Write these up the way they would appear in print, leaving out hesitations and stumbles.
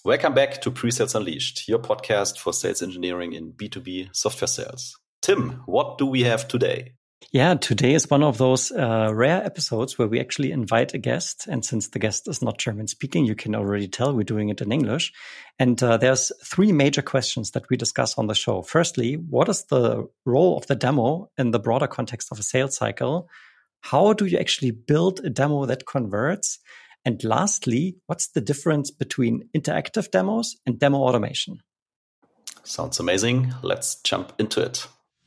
Welcome back to Pre-Sales Unleashed, your podcast for sales engineering in B2B software sales. Tim, what do we have today? Yeah, today is one of those rare episodes where we actually invite a guest. And since the guest is not German speaking, you can already tell we're doing it in English. And there's three major questions that we discuss on the show. Firstly, what is the role of the demo in the broader context of a sales cycle? How do you actually build a demo that converts? And lastly, what's the difference between interactive demos and demo automation? Sounds amazing. Let's jump into it.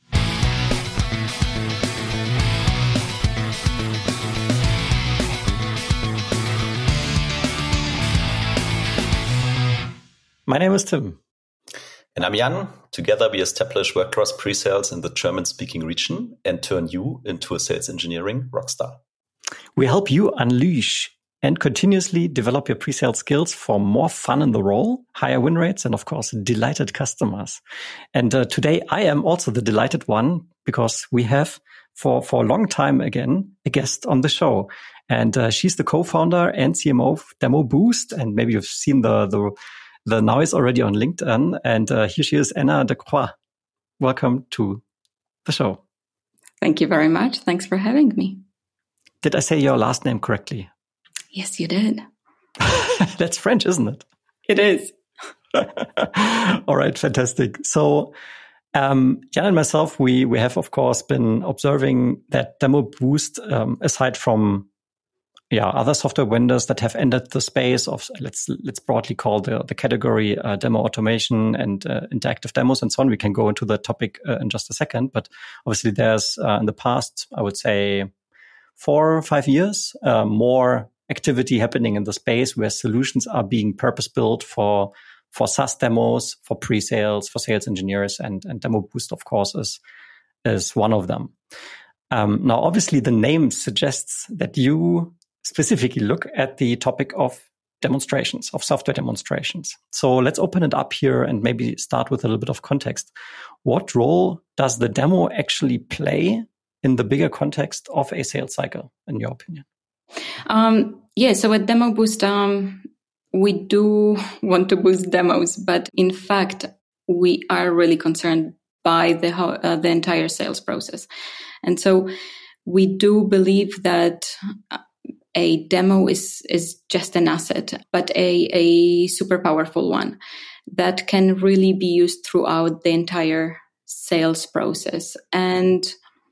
My name is Tim. And I'm Jan. Together we establish WordPress pre-sales in the German-speaking region and turn you into a sales engineering rockstar. We help you unleash and continuously develop your pre-sales skills for more fun in the role, higher win rates, and of course, delighted customers. And today I am also the delighted one because we have for a long time again, a guest on the show. And she's the co-founder and CMO of Demo Boost. And maybe you've seen the noise already on LinkedIn. And here she is, Anna de Croix. Welcome to the show. Thank you very much. Thanks for having me. Did I say your last name correctly? Yes, you did. That's French, isn't it? It is. All right, fantastic. So Jan and myself, we have, of course, been observing that Demo Boost, aside from other software vendors that have entered the space of, let's broadly call the category demo automation and interactive demos and so on. We can go into the topic in just a second. But obviously there's in the past, I would say 4 or 5 years, more activity happening in the space where solutions are being purpose-built for SaaS demos, for pre-sales, for sales engineers, and Demo Boost, of course, is one of them. Now, obviously, the name suggests that you specifically look at the topic of demonstrations, of software demonstrations. So let's open it up here and maybe start with a little bit of context. What role does the demo actually play in the bigger context of a sales cycle, in your opinion? So at Demo Boost, we do want to boost demos, but in fact, we are really concerned by the entire sales process. And so we do believe that a demo is just an asset, but a super powerful one that can really be used throughout the entire sales process. And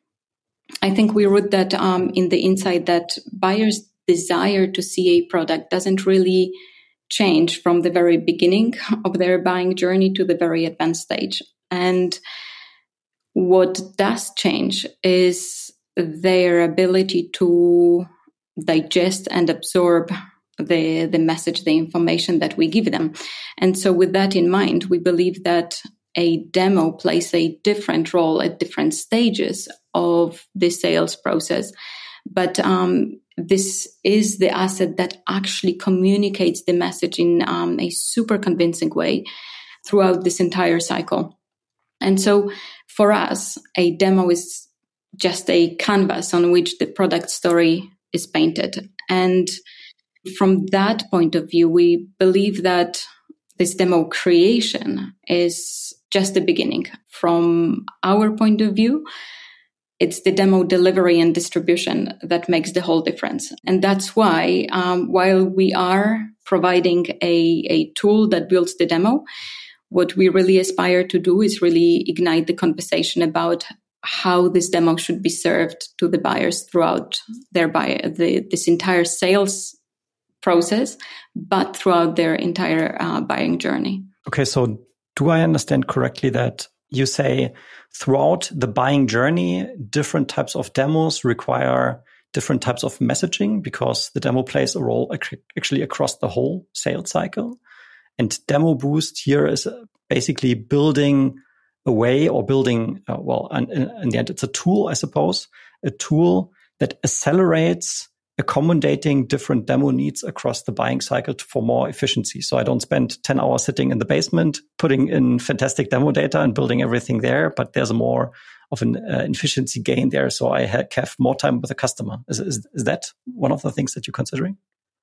I think we wrote that in the insight that buyers' desire to see a product doesn't really change from the very beginning of their buying journey to the very advanced stage. And what does change is their ability to digest and absorb the message, the information that we give them. And so with that in mind, we believe that a demo plays a different role at different stages of the sales process. But this is the asset that actually communicates the message in a super convincing way throughout this entire cycle. And so for us, a demo is just a canvas on which the product story is painted. And from that point of view, we believe that this demo creation is just the beginning. From our point of view, it's the demo delivery and distribution that makes the whole difference. And that's why, while we are providing a tool that builds the demo, what we really aspire to do is really ignite the conversation about how this demo should be served to the buyers throughout this entire sales process, but throughout their entire buying journey. Okay, so do I understand correctly that you say throughout the buying journey, different types of demos require different types of messaging because the demo plays a role actually across the whole sales cycle? And Demo Boost here is basically building a way or building, in the end, it's a tool, I suppose, a tool that accelerates accommodating different demo needs across the buying cycle for more efficiency. So I don't spend 10 hours sitting in the basement, putting in fantastic demo data and building everything there, but there's more of an efficiency gain there. So I have more time with the customer. Is that one of the things that you're considering?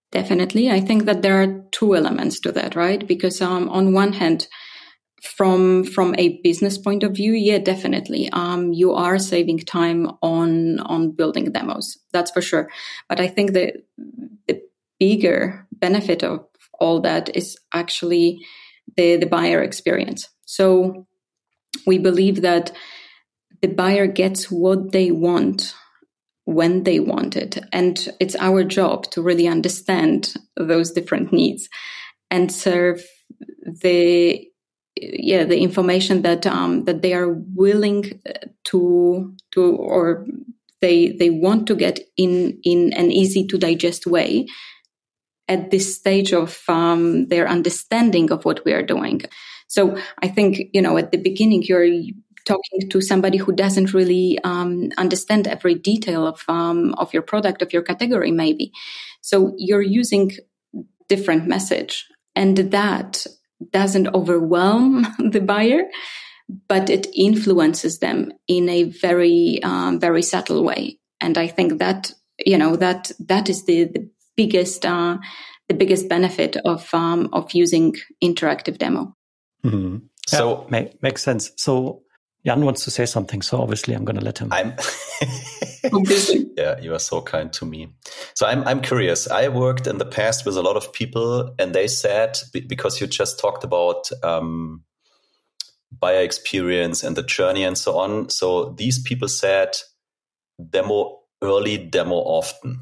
Definitely. I think that there are two elements to that, right? Because on one hand, from a business point of view, yeah, definitely. You are saving time on building demos. That's for sure. But I think the bigger benefit of all that is actually the buyer experience. So we believe that the buyer gets what they want when they want it. And it's our job to really understand those different needs and serve the information that they are willing to or they want to get in an easy to digest way at this stage of their understanding of what we are doing. So I think, at the beginning, you're talking to somebody who doesn't really understand every detail of your product, of your category, maybe. So you're using different message, and that doesn't overwhelm the buyer, but it influences them in a very, very subtle way. And I think that, that is the biggest benefit of using interactive demo. Mm-hmm. So makes sense. So Jan wants to say something, so obviously I'm going to let him. Yeah, you are so kind to me. So I'm curious. I worked in the past with a lot of people, and they said, because you just talked about buyer experience and the journey and so on. So these people said, demo early, demo often.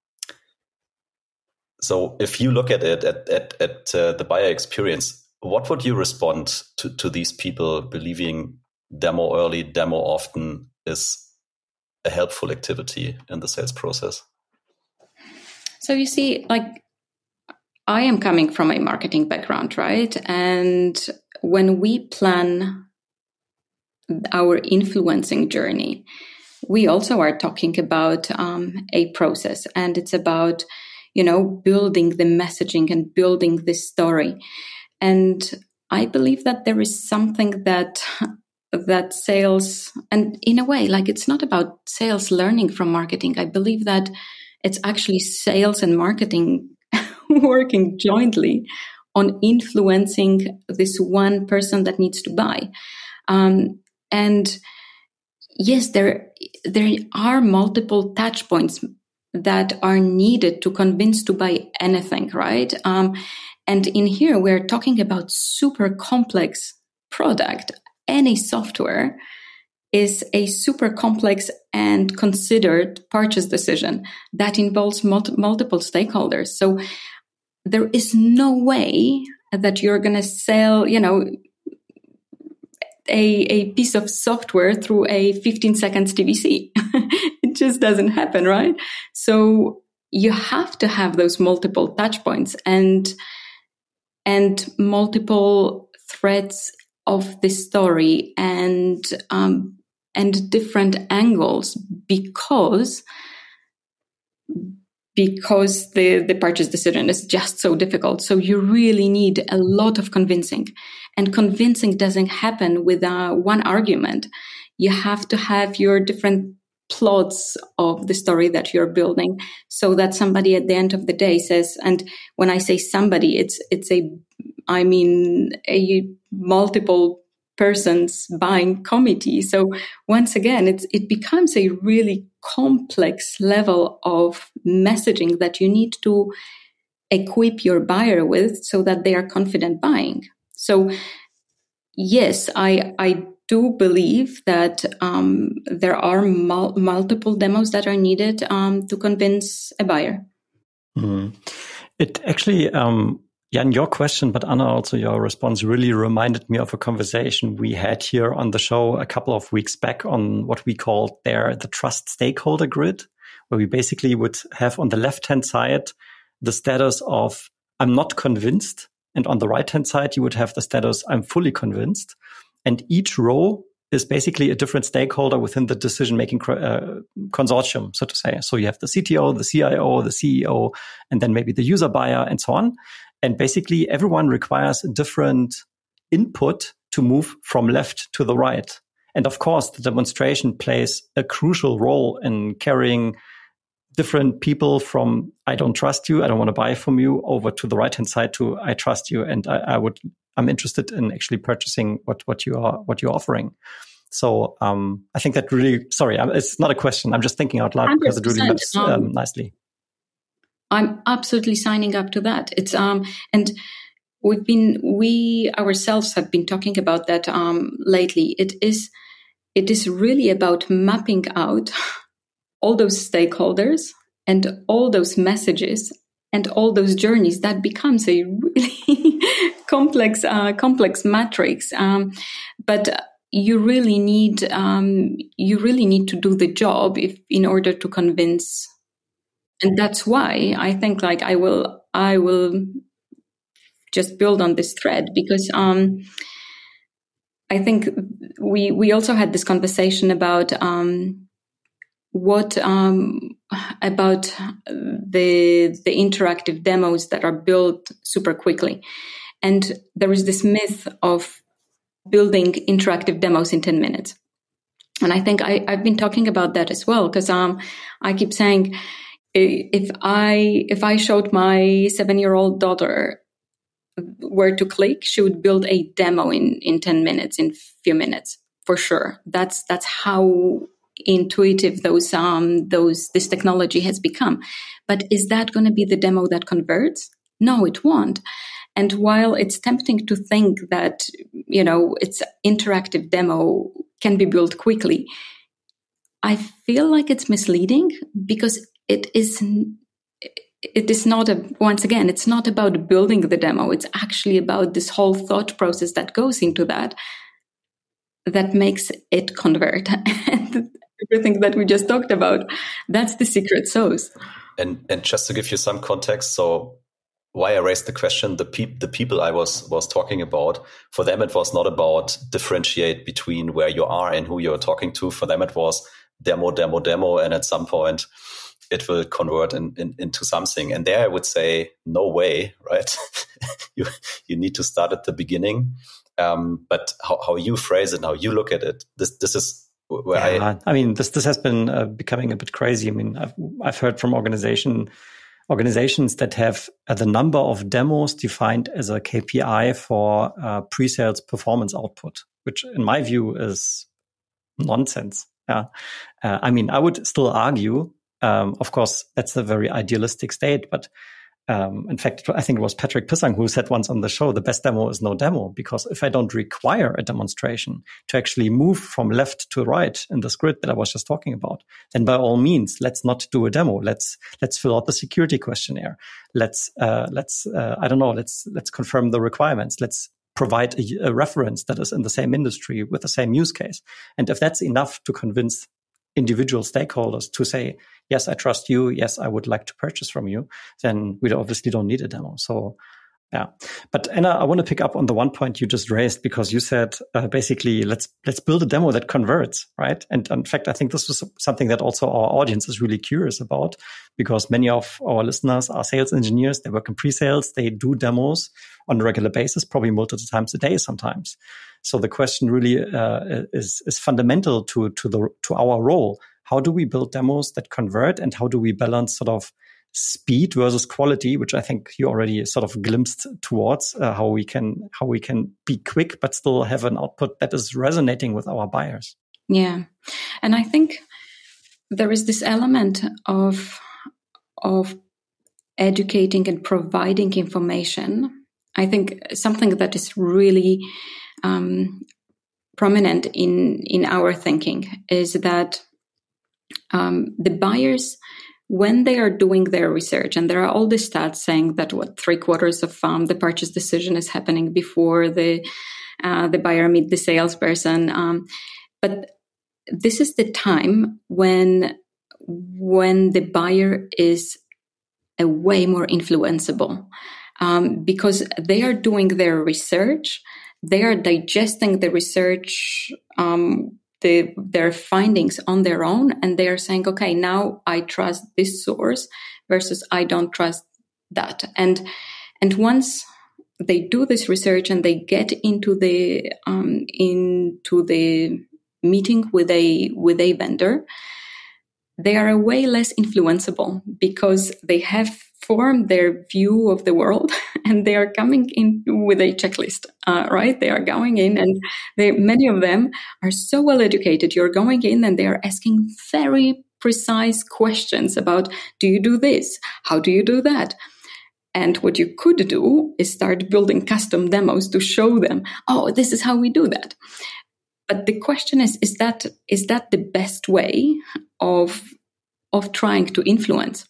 So if you look at it at the buyer experience, what would you respond to these people believing demo early, demo often is a helpful activity in the sales process? So you see, I am coming from a marketing background, right? And when we plan our influencing journey, we also are talking about a process, and it's about, building the messaging and building this story. And I believe that there is something that sales, and in a way, it's not about sales learning from marketing. I believe that it's actually sales and marketing working jointly on influencing this one person that needs to buy. And yes, there are multiple touch points that are needed to convince to buy anything, right? And in here, we're talking about super complex product. Any software is a super complex and considered purchase decision that involves multiple stakeholders. So there is no way that you're going to sell, a piece of software through a 15 seconds TVC. It just doesn't happen, right? So you have to have those multiple touch points and multiple threads of the story and different angles because the purchase decision is just so difficult. So you really need a lot of convincing, and convincing doesn't happen with one argument. You have to have your different plots of the story that you're building so that somebody at the end of the day says, and when I say somebody, it's a multiple persons buying committee. So once again, it becomes a really complex level of messaging that you need to equip your buyer with so that they are confident buying. So yes, I do believe that there are multiple demos that are needed to convince a buyer. Mm. It actually, Jan, your question, but Anna, also your response really reminded me of a conversation we had here on the show a couple of weeks back on what we called there the trust stakeholder grid, where we basically would have on the left-hand side the status of I'm not convinced, and on the right-hand side you would have the status I'm fully convinced. And each row is basically a different stakeholder within the decision-making consortium, so to say. So you have the CTO, the CIO, the CEO, and then maybe the user buyer and so on. And basically everyone requires a different input to move from left to the right. And of course, the demonstration plays a crucial role in carrying different people from I don't trust you, I don't want to buy from you, over to the right-hand side to I trust you, and I'm interested in actually purchasing what you're offering. So I think that really, sorry, it's not a question. I'm just thinking out loud because it really maps nicely. I'm absolutely signing up to that. It's and we ourselves have been talking about that lately. It is really about mapping out all those stakeholders and all those messages and all those journeys. That becomes a really complex matrix. But you really need to do the job in order to convince. And that's why I think like I will just build on this thread, because I think we also had this conversation about about the interactive demos that are built super quickly. And there is this myth of building interactive demos in 10 minutes. And I think I've been talking about that as well, because I keep saying, if I showed my 7-year-old daughter where to click, she would build a demo in 10 minutes, in few minutes, for sure. That's how intuitive this technology has become. But is that going to be the demo that converts? No, it won't. And while it's tempting to think that, it's interactive demo can be built quickly, I feel like it's misleading, because it is not it's not about building the demo. It's actually about this whole thought process that goes into that makes it convert. And everything that we just talked about, that's the secret sauce. And just to give you some context, so why I raised the question, the people I was talking about, for them it was not about differentiate between where you are and who you're talking to. For them it was demo, and at some point it will convert into something. And there I would say, no way, right? you need to start at the beginning. But how you phrase it, how you look at it, this is where this has been becoming a bit crazy. I mean, I've heard from organizations that have the number of demos defined as a KPI for pre-sales performance output, which in my view is nonsense. Yeah. I would still argue, of course, that's a very idealistic state, but in fact, I think it was Patrick Pissang who said once on the show, the best demo is no demo, because if I don't require a demonstration to actually move from left to right in this grid that I was just talking about, then by all means, let's not do a demo. Let's fill out the security questionnaire. Let's confirm the requirements. Let's provide a reference that is in the same industry with the same use case. And if that's enough to convince individual stakeholders to say, yes, I trust you, yes, I would like to purchase from you, then we obviously don't need a demo. So, yeah. But Anna, I want to pick up on the one point you just raised, because you said basically, let's build a demo that converts, right? And in fact, I think this was something that also our audience is really curious about, because many of our listeners are sales engineers. They work in pre-sales. They do demos on a regular basis, probably multiple times a day sometimes. So the question really is fundamental to our role. How do we build demos that convert, and how do we balance sort of speed versus quality, which I think you already sort of glimpsed towards, how we can be quick but still have an output that is resonating with our buyers. Yeah, and I think there is this element of educating and providing information. I think something that is really prominent in our thinking is that the buyers, when they are doing their research, and there are all the stats saying that 3/4 of the purchase decision is happening before the buyer meet the salesperson. But this is the time when the buyer is a way more influenceable, because they are doing their research, they are digesting the research, their findings on their own, and they are saying, okay, now I trust this source versus I don't trust that. And once they do this research and they get into the meeting with a vendor, they are way less influenceable because they have formed their view of the world and they are coming in with a checklist, right? They are going in and many of them are so well educated. You're going in and they are asking very precise questions about, do you do this? How do you do that? And what you could do is start building custom demos to show them, oh, this is how we do that. But the question is that the best way of trying to influence?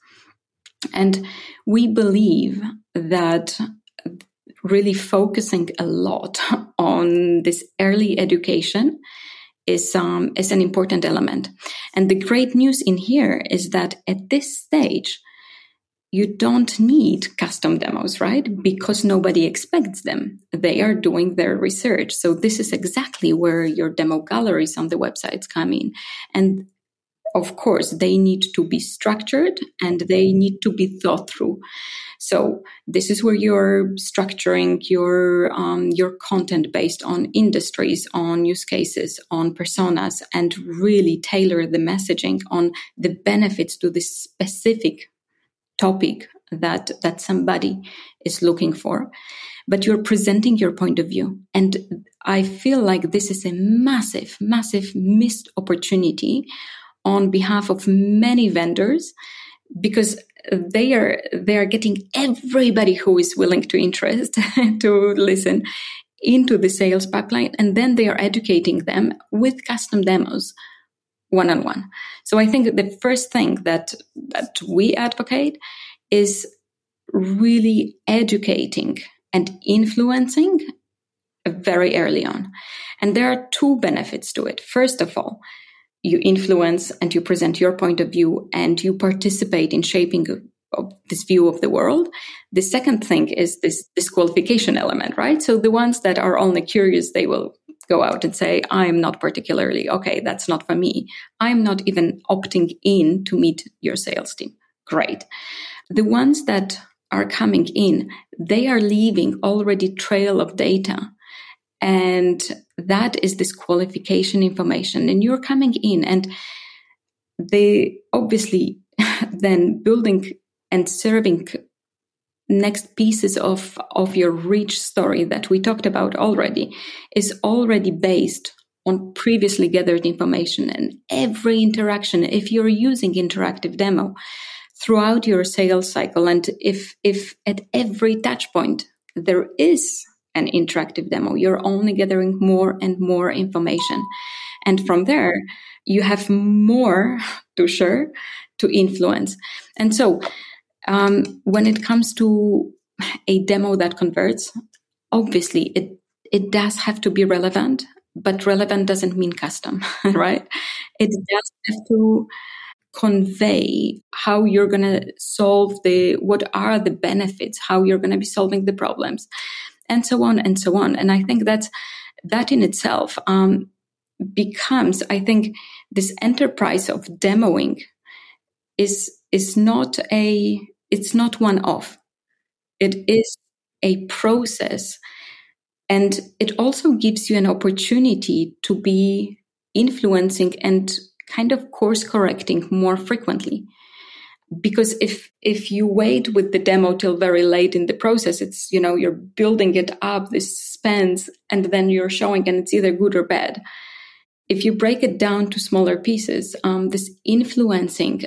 And we believe that really focusing a lot on this early education is an important element. And the great news in here is that at this stage, you don't need custom demos, right? Because nobody expects them. They are doing their research. So this is exactly where your demo galleries on the websites come in. And of course, they need to be structured and they need to be thought through. So this is where you're structuring your content based on industries, on use cases, on personas, and really tailor the messaging on the benefits to this specific topic that somebody is looking for. But you're presenting your point of view. And I feel like this is a massive, massive missed opportunity on behalf of many vendors, because they are getting everybody who is willing to interest to listen into the sales pipeline, and then they are educating them with custom demos one-on-one. So I think the first thing that we advocate is really educating and influencing very early on. And there are two benefits to it. First of all, you influence and you present your point of view and you participate in shaping of this view of the world. The second thing is this disqualification element, right? So the ones that are only curious, they will go out and say, I'm not particularly, okay, that's not for me. I'm not even opting in to meet your sales team. Great. The ones that are coming in, they are leaving already trail of data. And that is this qualification information. And you're coming in and they obviously then building and serving next pieces of your rich story that we talked about already is already based on previously gathered information. And every interaction, if you're using interactive demo throughout your sales cycle, and if at every touch point there is an interactive demo, you're only gathering more and more information. And from there, you have more to share, to influence. And so when it comes to a demo that converts, obviously it does have to be relevant, but relevant doesn't mean custom, right? It does have to convey how you're going to solve what are the benefits, how you're going to be solving the problems, and so on and so on. And I think that in itself becomes, I think, this enterprise of demoing is not it's not one-off. It is a process. And it also gives you an opportunity to be influencing and kind of course correcting more frequently. Because if you wait with the demo till very late in the process, it's, you're building it up, this suspense, and then you're showing and it's either good or bad. If you break it down to smaller pieces, this influencing,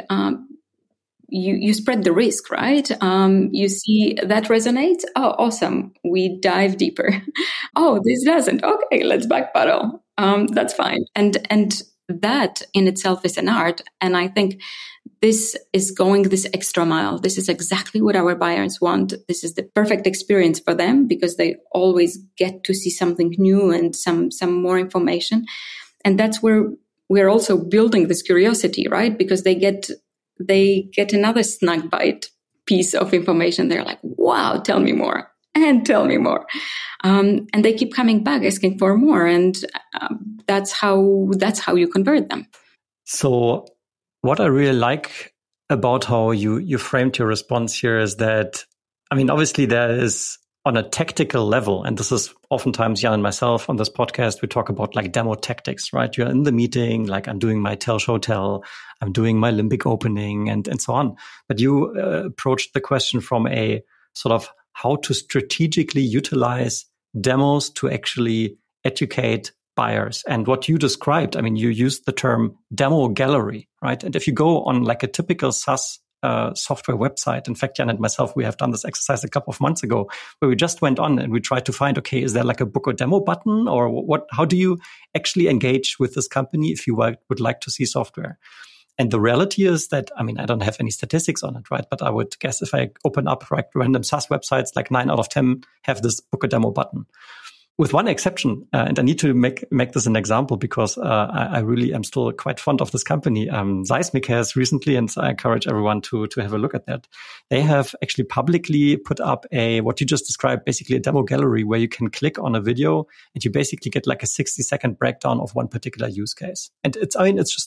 you spread the risk, right? You see that resonates. Oh, awesome. We dive deeper. Oh, this doesn't. Okay, let's backpedal. That's fine. And that in itself is an art. And I think this is going this extra mile. This is exactly what our buyers want. This is the perfect experience for them because they always get to see something new and some more information. And that's where we're also building this curiosity, right? Because they get another snag bite piece of information. They're like, wow, tell me more and tell me more. And they keep coming back asking for more. And that's how you convert them. So what I really like about how you framed your response here is that, I mean, obviously there is on a tactical level, and this is oftentimes Jan and myself on this podcast, we talk about like demo tactics, right? You're in the meeting, like I'm doing my tell, show, tell, I'm doing my Limbic opening and so on. But you approached the question from a sort of how to strategically utilize demos to actually educate buyers. And what you described, I mean, you used the term demo gallery, right? And if you go on like a typical SaaS software website. In fact, Jan and myself, we have done this exercise a couple of months ago where we just went on and we tried to find, okay, is there like a book or demo button or what? How do you actually engage with this company if you would like to see software? And the reality is that, I mean, I don't have any statistics on it, right? But I would guess if I open up like random SaaS websites, like 9 out of 10 have this book or demo button. With one exception, and I need to make this an example because I really am still quite fond of this company. Seismic has recently, and I encourage everyone to have a look at that. They have actually publicly put up what you just described, basically a demo gallery where you can click on a video and you basically get like a 60-second breakdown of one particular use case. And it's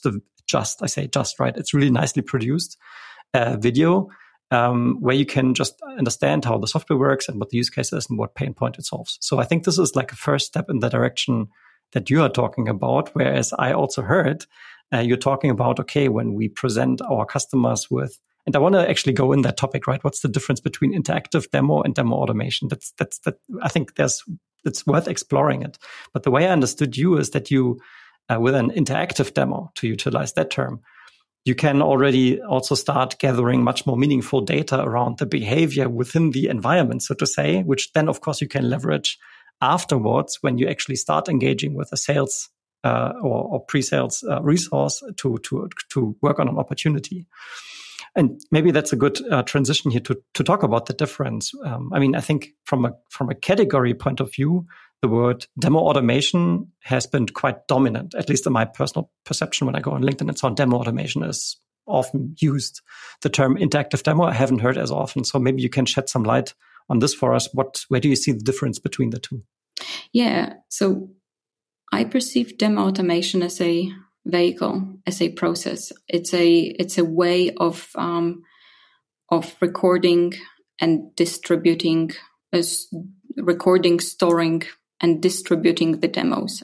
just right. It's really nicely produced video. Where you can just understand how the software works and what the use case is and what pain point it solves. So I think this is like a first step in the direction that you are talking about, whereas I also heard you're talking about, okay, when we present our customers with, and I want to actually go in that topic, right? What's the difference between interactive demo and demo automation? I think it's worth exploring it. But the way I understood you is that you, with an interactive demo, to utilize that term, you can already also start gathering much more meaningful data around the behavior within the environment, so to say, which then, of course, you can leverage afterwards when you actually start engaging with a sales or pre-sales resource to work on an opportunity. And maybe that's a good transition here to talk about the difference. I mean, I think from a category point of view, the word demo automation has been quite dominant, at least in my personal perception. When I go on LinkedIn and so on, demo automation is often used. The term interactive demo, I haven't heard as often. So maybe you can shed some light on this for us. Where do you see the difference between the two? Yeah. So I perceive demo automation as a vehicle, as a process. It's a way of recording and distributing, recording, storing, and distributing the demos.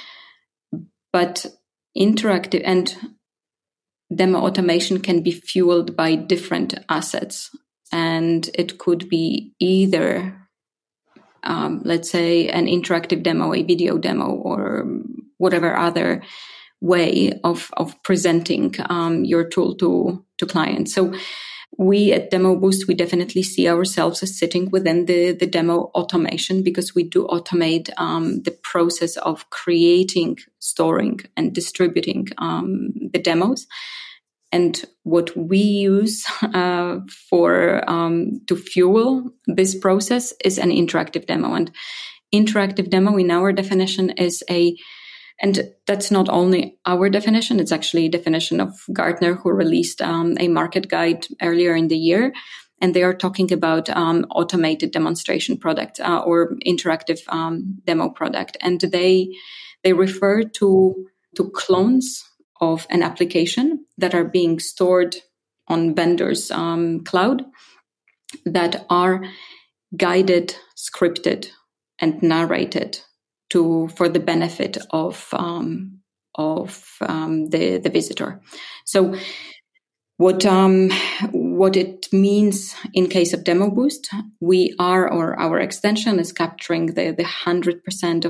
But interactive and demo automation can be fueled by different assets. And it could be either, let's say, an interactive demo, a video demo, or whatever other way of presenting your tool to clients. So we at Demo Boost, we definitely see ourselves as sitting within the demo automation because we do automate the process of creating, storing, and distributing the demos. And what we use to fuel this process is an interactive demo. And interactive demo, in our definition, is and that's not only our definition, it's actually a definition of Gartner, who released a market guide earlier in the year. And they are talking about automated demonstration product or interactive demo product. And they refer to clones of an application that are being stored on vendors' cloud that are guided, scripted, and narrated for the benefit of the visitor. So what it means in case of Demo Boost, we are, or our extension is capturing the 100%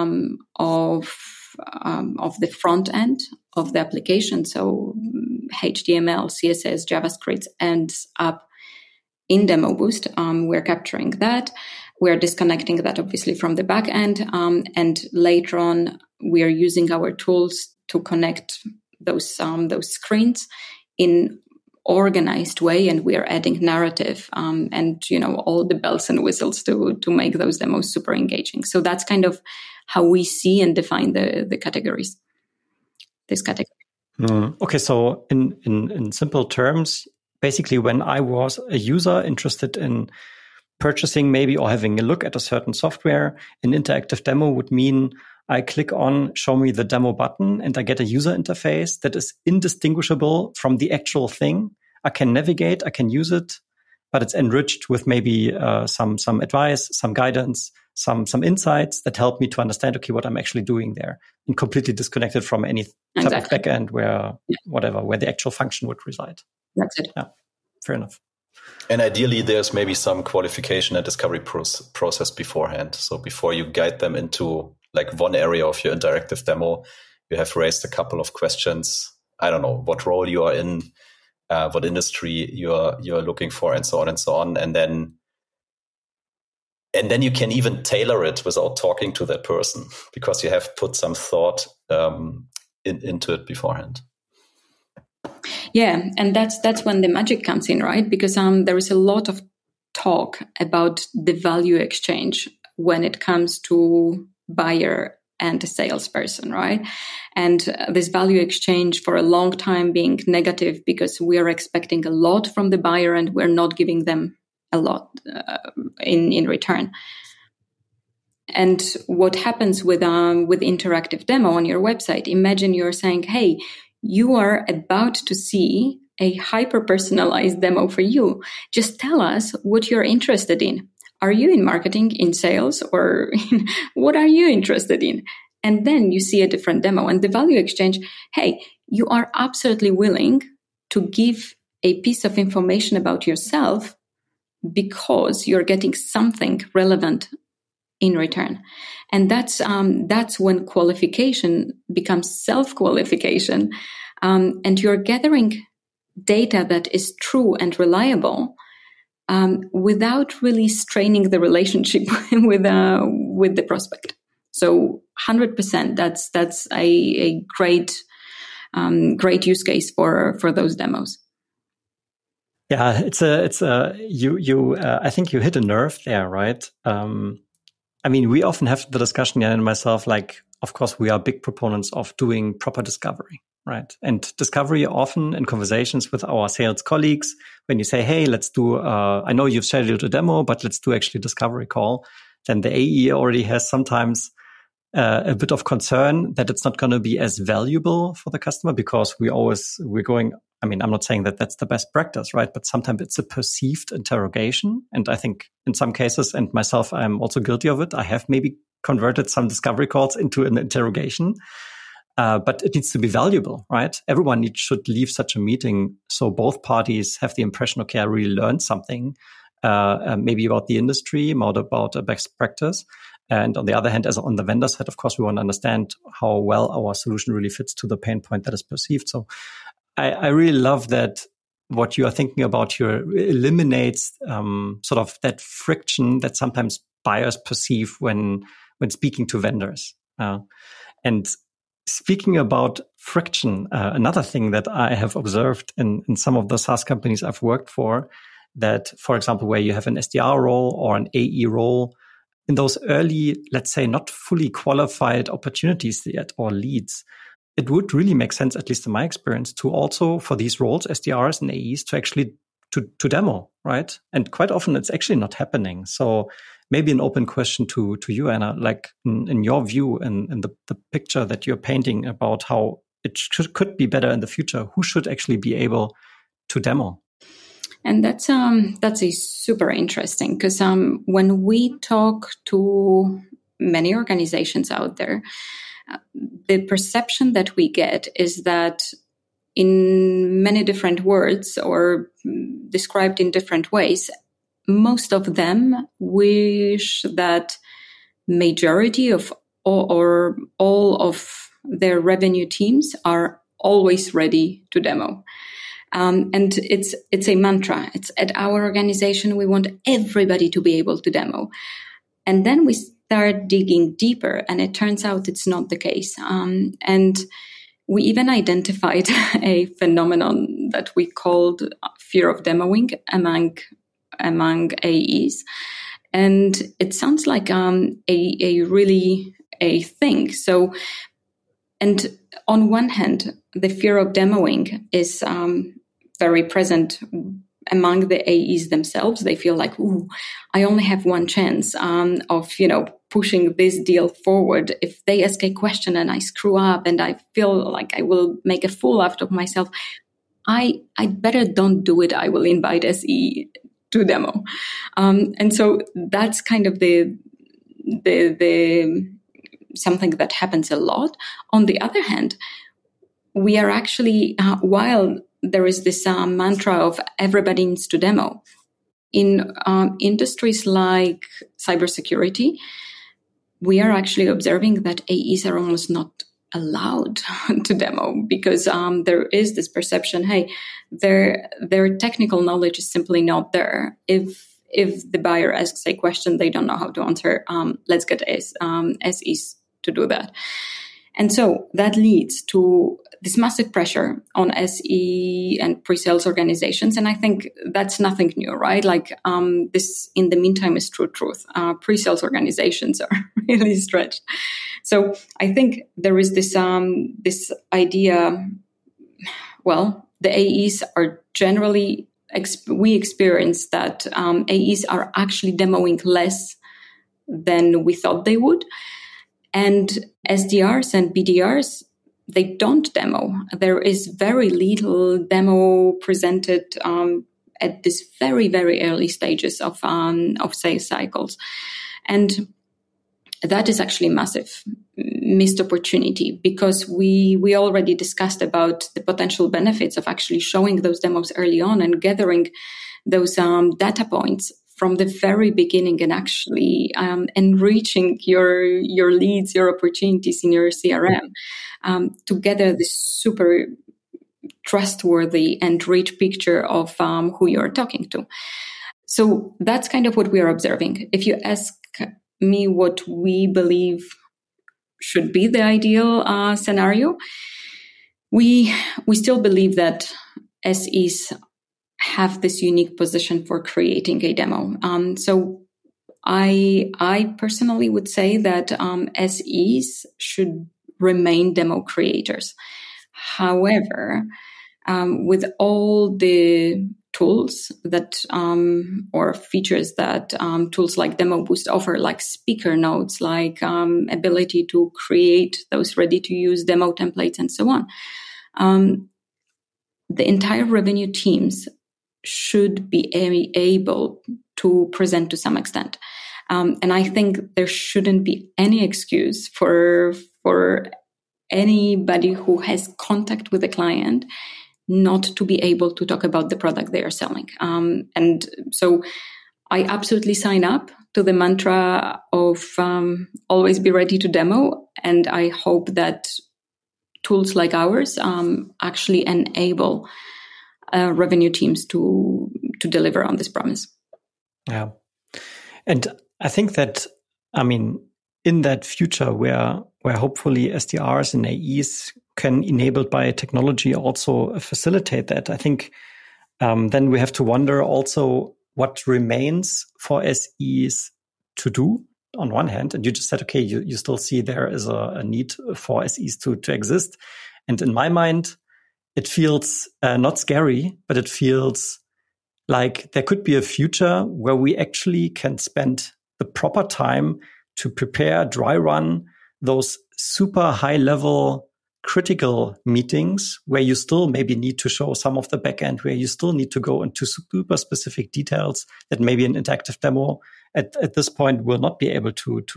of the front end of the application. So HTML, CSS, JavaScript ends up in Demo Boost. We're capturing that. We're disconnecting that obviously from the back end. And later on, we are using our tools to connect those screens in organized way. And we are adding narrative and, all the bells and whistles to make those demos super engaging. So that's kind of how we see and define the categories, this category. Okay. So in simple terms, basically when I was a user interested in purchasing maybe or having a look at a certain software, an interactive demo would mean I click on show me the demo button and I get a user interface that is indistinguishable from the actual thing. I can navigate, I can use it, but it's enriched with maybe some advice, some guidance, some insights that help me to understand, okay, what I'm actually doing there, and completely disconnected from any type of backend where the actual function would reside. That's it. Yeah, fair enough. And ideally, there's maybe some qualification and discovery process beforehand. So before you guide them into like one area of your interactive demo, you have raised a couple of questions. I don't know what role you are in, what industry you're looking for, and so on and so on. And then you can even tailor it without talking to that person because you have put some thought into it beforehand. Yeah, and that's when the magic comes in, right? Because there is a lot of talk about the value exchange when it comes to buyer and a salesperson, right? And this value exchange for a long time being negative because we are expecting a lot from the buyer and we're not giving them a lot in return. And what happens with interactive demo on your website? Imagine you're saying, hey, you are about to see a hyper-personalized demo for you. Just tell us what you're interested in. Are you in marketing, in sales, or what are you interested in? And then you see a different demo. And the value exchange, hey, you are absolutely willing to give a piece of information about yourself because you're getting something relevant in return. And that's when qualification becomes self-qualification, and you're gathering data that is true and reliable without really straining the relationship with the prospect. So 100%, that's a great use case for those demos. Yeah, I think you hit a nerve there, right? I mean, we often have the discussion, Jan and myself, like, of course, we are big proponents of doing proper discovery, right? And discovery often in conversations with our sales colleagues, when you say, hey, let's do, I know you've scheduled a demo, but let's do actually a discovery call, then the AE already has sometimes a bit of concern that it's not going to be as valuable for the customer because we're going, I mean, I'm not saying that that's the best practice, right? But sometimes it's a perceived interrogation. And I think in some cases, and myself, I'm also guilty of it. I have maybe converted some discovery calls into an interrogation, but it needs to be valuable, right? Everyone should leave such a meeting so both parties have the impression, okay, I really learned something, maybe about the industry, more about a best practice. And on the other hand, as on the vendor side, of course, we want to understand how well our solution really fits to the pain point that is perceived. So I really love that what you are thinking about here eliminates sort of that friction that sometimes buyers perceive when speaking to vendors. And speaking about friction, another thing that I have observed in some of the SaaS companies I've worked for, that, for example, where you have an SDR role or an AE role, in those early, let's say, not fully qualified opportunities yet or leads, it would really make sense, at least in my experience, to also, for these roles, SDRs and AEs, to actually to demo, right? And quite often it's actually not happening. So maybe an open question to you, Anna, like in your view and the picture that you're painting about how it could be better in the future, who should actually be able to demo? And that's a super interesting, because when we talk to many organizations out there, the perception that we get is that in many different words or described in different ways, most of them wish that majority of or all of their revenue teams are always ready to demo. And it's a mantra. It's at our organization, we want everybody to be able to demo. And then we start digging deeper, and it turns out it's not the case. And we even identified a phenomenon that we called fear of demoing among AEs. And it sounds like a thing. So, and on one hand, the fear of demoing is very present among the AEs themselves. They feel like, ooh, I only have one chance of, pushing this deal forward. If they ask a question and I screw up and I feel like I will make a fool out of myself, I better don't do it. I will invite SE to demo. And so that's kind of the something that happens a lot. On the other hand, we are actually, while there is this mantra of everybody needs to demo, in industries like cybersecurity, we are actually observing that AEs are almost not allowed to demo because there is this perception, hey, their technical knowledge is simply not there. If the buyer asks a question they don't know how to answer, let's get SEs to do that. And so that leads to this massive pressure on SE and pre-sales organizations. And I think that's nothing new, right? Like this, in the meantime, is true truth. Pre-sales organizations are really stretched. So I think there is this idea, well, the AEs are generally, we experience that AEs are actually demoing less than we thought they would. And SDRs and BDRs, they don't demo. There is very little demo presented at this very, very early stages of sales cycles. And that is actually a massive missed opportunity because we already discussed about the potential benefits of actually showing those demos early on and gathering those data points from the very beginning and actually enriching your leads, your opportunities in your CRM to gather this super trustworthy and rich picture of who you're talking to. So that's kind of what we are observing. If you ask me what we believe should be the ideal scenario, we still believe that SEs have this unique position for creating a demo. So I personally would say that SEs should remain demo creators. However, with all the tools that or features that tools like Demo Boost offer, like speaker notes, like ability to create those ready-to-use demo templates and so on, the entire revenue teams should be able to present to some extent. And I think there shouldn't be any excuse for anybody who has contact with a client not to be able to talk about the product they are selling. And so I absolutely sign up to the mantra of always be ready to demo. And I hope that tools like ours actually enable revenue teams to deliver on this promise. Yeah. And I think that, I mean, in that future where hopefully SDRs and AEs can, enabled by technology, also facilitate that, I think then we have to wonder also what remains for SEs to do on one hand. And you just said, okay, you still see there is a need for SEs to exist. And in my mind, it feels not scary, but it feels like there could be a future where we actually can spend the proper time to prepare, dry run those super high level critical meetings where you still maybe need to show some of the backend, where you still need to go into super specific details that maybe an interactive demo at this point will not be able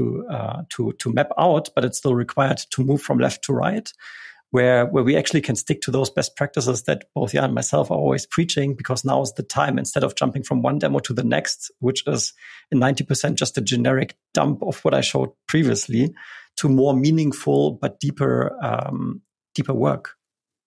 to map out, but it's still required to move from left to right. Where we actually can stick to those best practices that both Jan and myself are always preaching, because now is the time, instead of jumping from one demo to the next, which is in 90% just a generic dump of what I showed previously, to more meaningful but deeper work.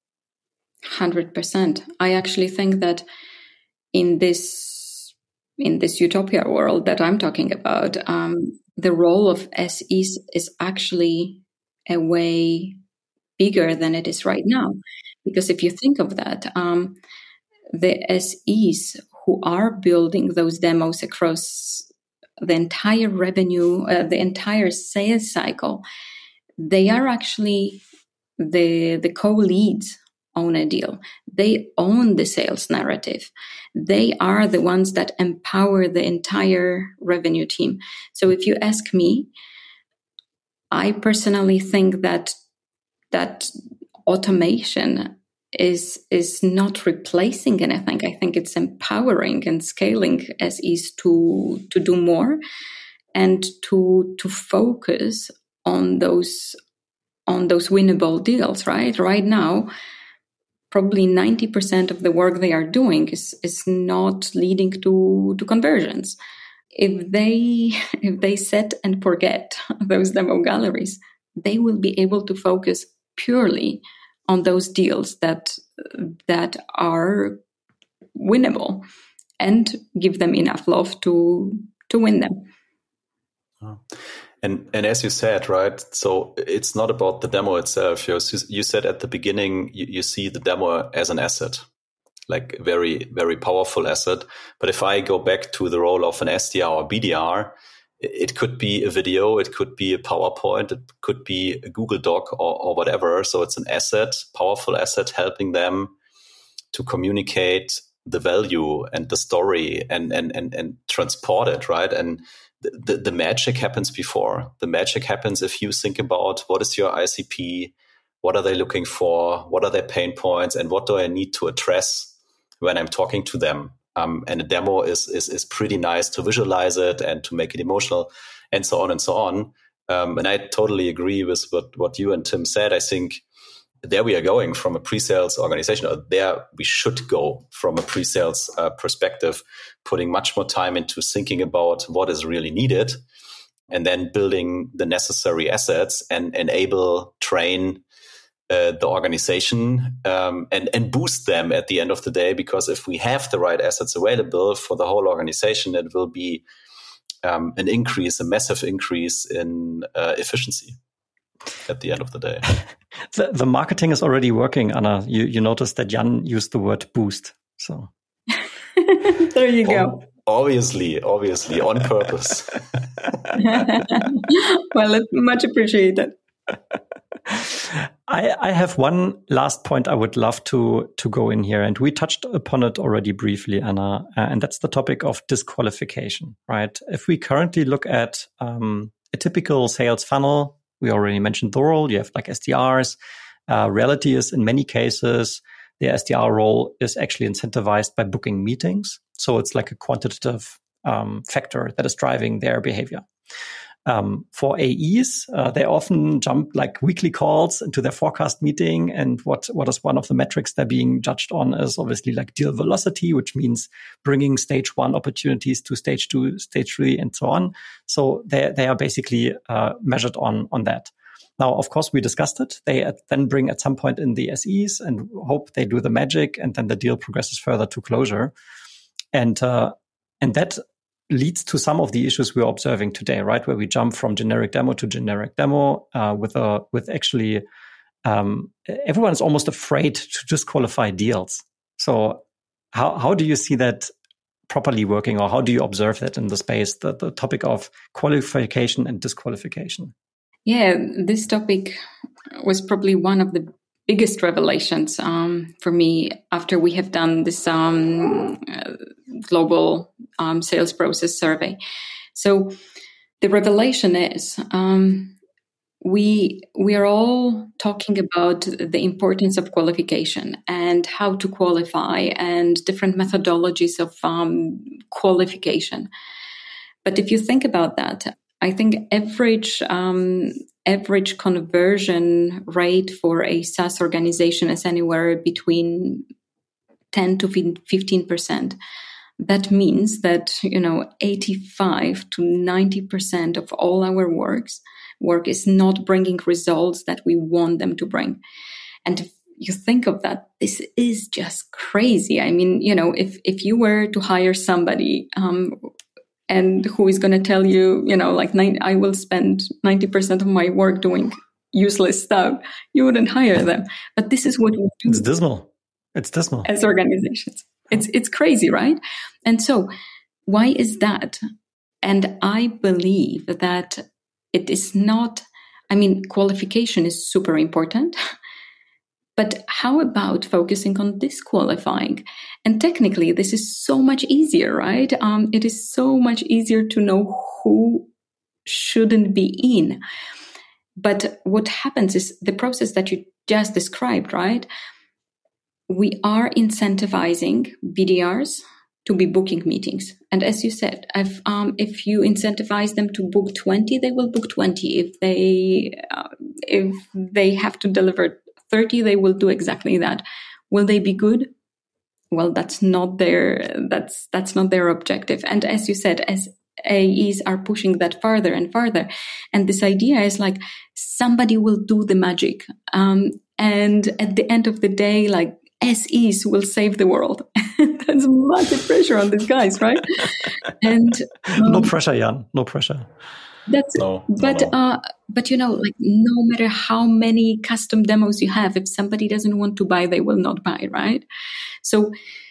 100%. I actually think that in this utopia world that I'm talking about, the role of SEs is actually a way bigger than it is right now. Because if you think of that, the SEs who are building those demos across the entire revenue, the entire sales cycle, they are actually the co-leads on a deal. They own the sales narrative. They are the ones that empower the entire revenue team. So if you ask me, I personally think that automation is not replacing anything. I think it's empowering and scaling SEs to do more and to focus on those winnable deals, right? Right now, probably 90% of the work they are doing is not leading to conversions. If they set and forget those demo galleries, they will be able to focus purely on those deals that are winnable and give them enough love to win them. And as you said, right, so it's not about the demo itself. You said at the beginning, you see the demo as an asset, like a very, very powerful asset. But if I go back to the role of an SDR or BDR, it could be a video, it could be a PowerPoint, it could be a Google Doc or whatever. So it's an asset, powerful asset, helping them to communicate the value and the story and transport it, right? And the magic happens before. The magic happens if you think about what is your ICP, what are they looking for, what are their pain points, and what do I need to address when I'm talking to them. And a demo is pretty nice to visualize it and to make it emotional and so on and so on. And I totally agree with what you and Tim said. I think there we are going from a pre-sales organization, or there we should go from a pre-sales perspective, putting much more time into thinking about what is really needed and then building the necessary assets and enable, train the organization and boost them at the end of the day. Because if we have the right assets available for the whole organization, it will be a massive increase in efficiency at the end of the day. The marketing is already working, Anna. You noticed that Jan used the word boost. So there you go. Obviously, on purpose. Well, it's much appreciated. I have one last point I would love to go in here, and we touched upon it already briefly, Anna, and that's the topic of disqualification, right? If we currently look at a typical sales funnel, we already mentioned the role. You have like SDRs. Reality is in many cases, the SDR role is actually incentivized by booking meetings. So it's like a quantitative factor that is driving their behavior. For AEs, they often jump like weekly calls into their forecast meeting. And what is one of the metrics they're being judged on is obviously like deal velocity, which means bringing stage 1 opportunities to stage 2, stage 3, and so on. So they are basically measured on that. Now, of course, we discussed it. They then bring at some point in the SEs and hope they do the magic, and then the deal progresses further to closure. And that leads to some of the issues we're observing today, right? Where we jump from generic demo to generic demo with actually everyone is almost afraid to disqualify deals. So how do you see that properly working, or how do you observe that in the space, the topic of qualification and disqualification? Yeah, this topic was probably one of the biggest revelations for me after we have done this global sales process survey. So the revelation is we are all talking about the importance of qualification and how to qualify and different methodologies of qualification. But if you think about that, I think average conversion rate for a SaaS organization is anywhere between 10 to 15%. That means that 85 to 90% of all our work is not bringing results that we want them to bring. And if you think of that, this is just crazy. I mean, if you were to hire somebody and who is going to tell you, I will spend 90% of my work doing useless stuff, you wouldn't hire them. But this is what we do. It's dismal. As organizations. It's crazy, right? And so why is that? And I believe that it is not, qualification is super important. But how about focusing on disqualifying? And technically, this is so much easier, right? It is so much easier to know who shouldn't be in. But what happens is the process that you just described, right? we are incentivizing BDRs to be booking meetings. And as you said, if you incentivize them to book 20, they will book 20. If they have to deliver 30, they will do exactly that. Will they be good? Well, that's not their objective. And as you said, as AEs are pushing that farther and farther, and this idea is like somebody will do the magic, and at the end of the day, like SEs will save the world. That's massive pressure on these guys, right? And no pressure, Jan. No pressure. That's no, but no. But like no matter how many custom demos you have, if somebody doesn't want to buy, they will not buy, right? So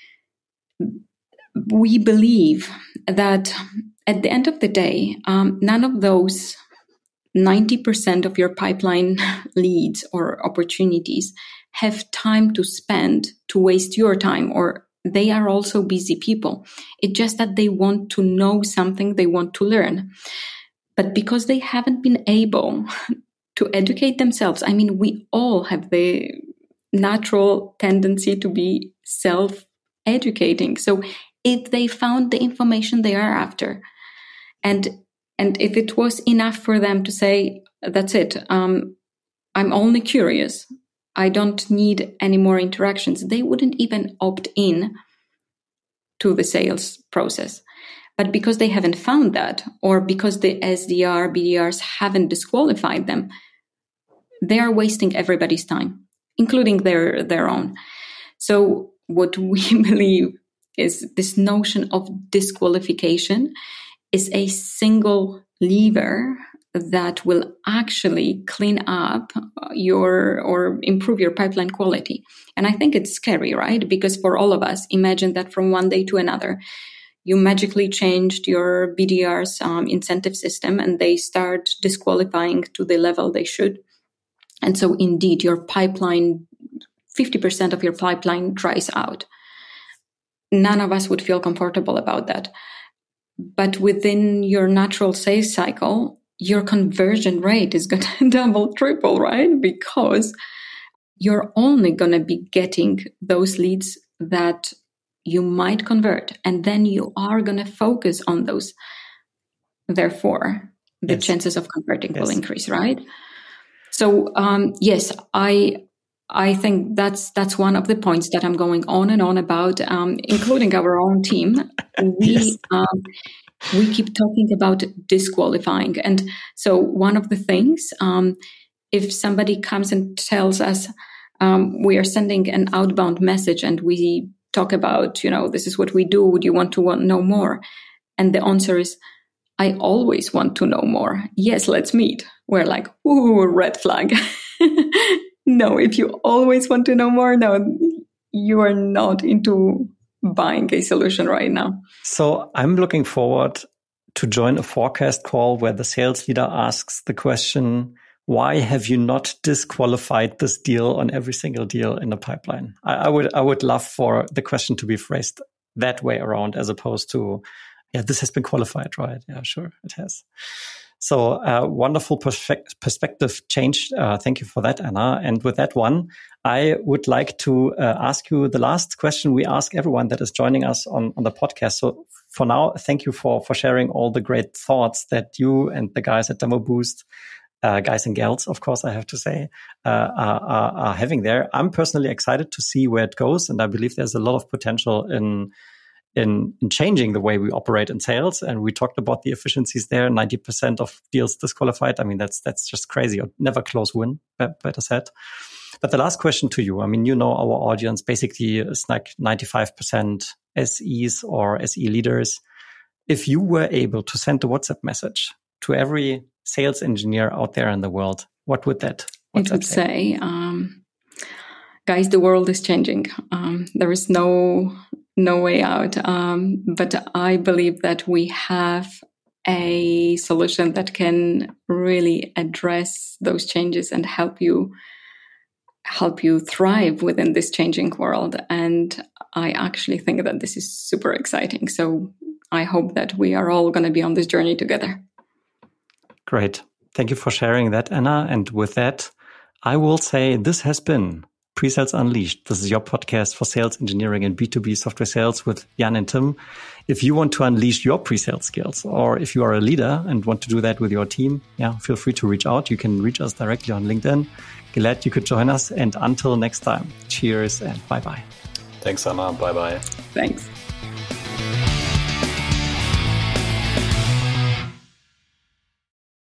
we believe that at the end of the day, none of those 90% of your pipeline leads or opportunities have time to spend to waste your time, or they are also busy people. It's just that they want to know something, they want to learn. But because they haven't been able to educate themselves, I mean, we all have the natural tendency to be self-educating. So if they found the information they are after, and if it was enough for them to say, that's it, I'm only curious, I don't need any more interactions, they wouldn't even opt in to the sales process. But because they haven't found that, or because the SDR, BDRs haven't disqualified them, they are wasting everybody's time, including their own. So what we believe is this notion of disqualification is a single lever that will actually clean up or improve your pipeline quality. And I think it's scary, right? Because for all of us, imagine that from one day to another, you magically changed your BDR's incentive system and they start disqualifying to the level they should. And so indeed, your pipeline, 50% of your pipeline dries out. None of us would feel comfortable about that. But within your natural sales cycle, your conversion rate is going to double, triple, right? Because you're only going to be getting those leads that you might convert, and then you are going to focus on those. Therefore, the chances of converting will increase, right? So, yes, I think that's one of the points that I'm going on and on about, including our own team. We keep talking about disqualifying. And so one of the things, if somebody comes and tells us we are sending an outbound message and we talk about, this is what we do, would you want to know more? And the answer is, I always want to know more. Yes, let's meet. We're like, ooh, red flag. No, if you always want to know more, no, you are not into buying a solution right now. So I'm looking forward to join a forecast call where the sales leader asks the question, why have you not disqualified this deal on every single deal in the pipeline? I would love for the question to be phrased that way around, as opposed to, yeah, this has been qualified, right? Yeah, sure, it has. So wonderful perspective change. Thank you for that, Anna. And with that one, I would like to ask you the last question we ask everyone that is joining us on the podcast. So for now, thank you for sharing all the great thoughts that you and the guys at DemoBoost, guys and gals, of course, I have to say, are having there. I'm personally excited to see where it goes. And I believe there's a lot of potential in changing the way we operate in sales. And we talked about the efficiencies there, 90% of deals disqualified. I mean, that's just crazy, or never close win, better said. But the last question to you, I mean, our audience basically is like 95% SEs or SE leaders. If you were able to send a WhatsApp message to every sales engineer out there in the world, what would that it would say? Guys, the world is changing. There is no way out. But I believe that we have a solution that can really address those changes and help you thrive within this changing world. And I actually think that this is super exciting. So I hope that we are all going to be on this journey together. Great. Thank you for sharing that, Anna. And with that, I will say this has been Pre-Sales Unleashed. This is your podcast for sales engineering and B2B software sales with Jan and Tim. If you want to unleash your pre-sales skills, or if you are a leader and want to do that with your team, feel free to reach out. You can reach us directly on LinkedIn. Glad you could join us. And until next time, cheers and bye-bye. Thanks, Anna. Bye-bye. Thanks.